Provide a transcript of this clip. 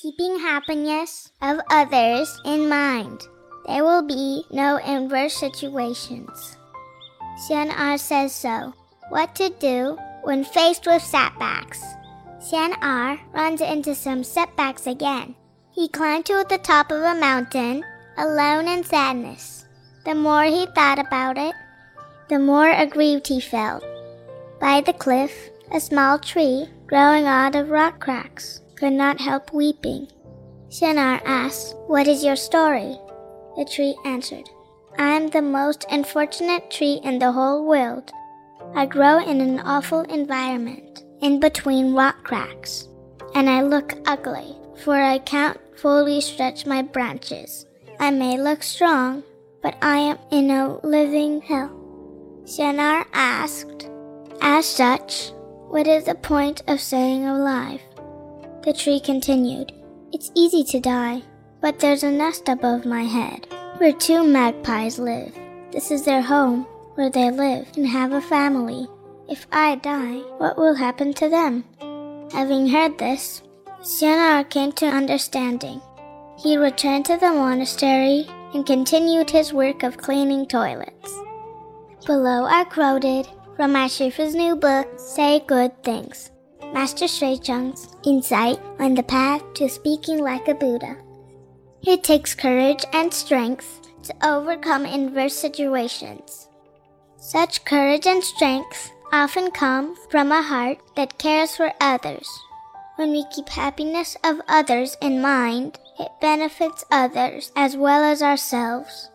keeping happiness of others in mind. There will be no adverse situations. Xian says so. What to do when faced with setbacks? Xian runs into some setbacks again. He climbed to the top of a mountain, alone in sadness. The more he thought about it, the more aggrieved he felt. By the cliff, a small tree, growing out of rock cracks, could not help weeping. Xian asked, "What is your story?" The tree answered, "I am the most unfortunate tree in the whole world. I grow in an awful environment, in between rock cracks, and I look ugly, for I can't fully stretch my branches. I may look strong, but I am in a living hell." Xian asked, "As such, what is the point of staying alive?" The tree continued, "It's easy to die, but there's a nest above my head, where 2 magpies live. This is their home, where they live and have a family. If I die, what will happen to them?" Having heard this, Xian came to understanding. He returned to the monastery and continued his work of cleaning toilets. Below are quoted from Master Shifu's new book, Say Good Things, Master Shuicheng's insight on the path to speaking like a Buddha. It takes courage and strength to overcome adverse situations. Such courage and strength often come from a heart that cares for others. When we keep happiness of others in mind, it benefits others as well as ourselves.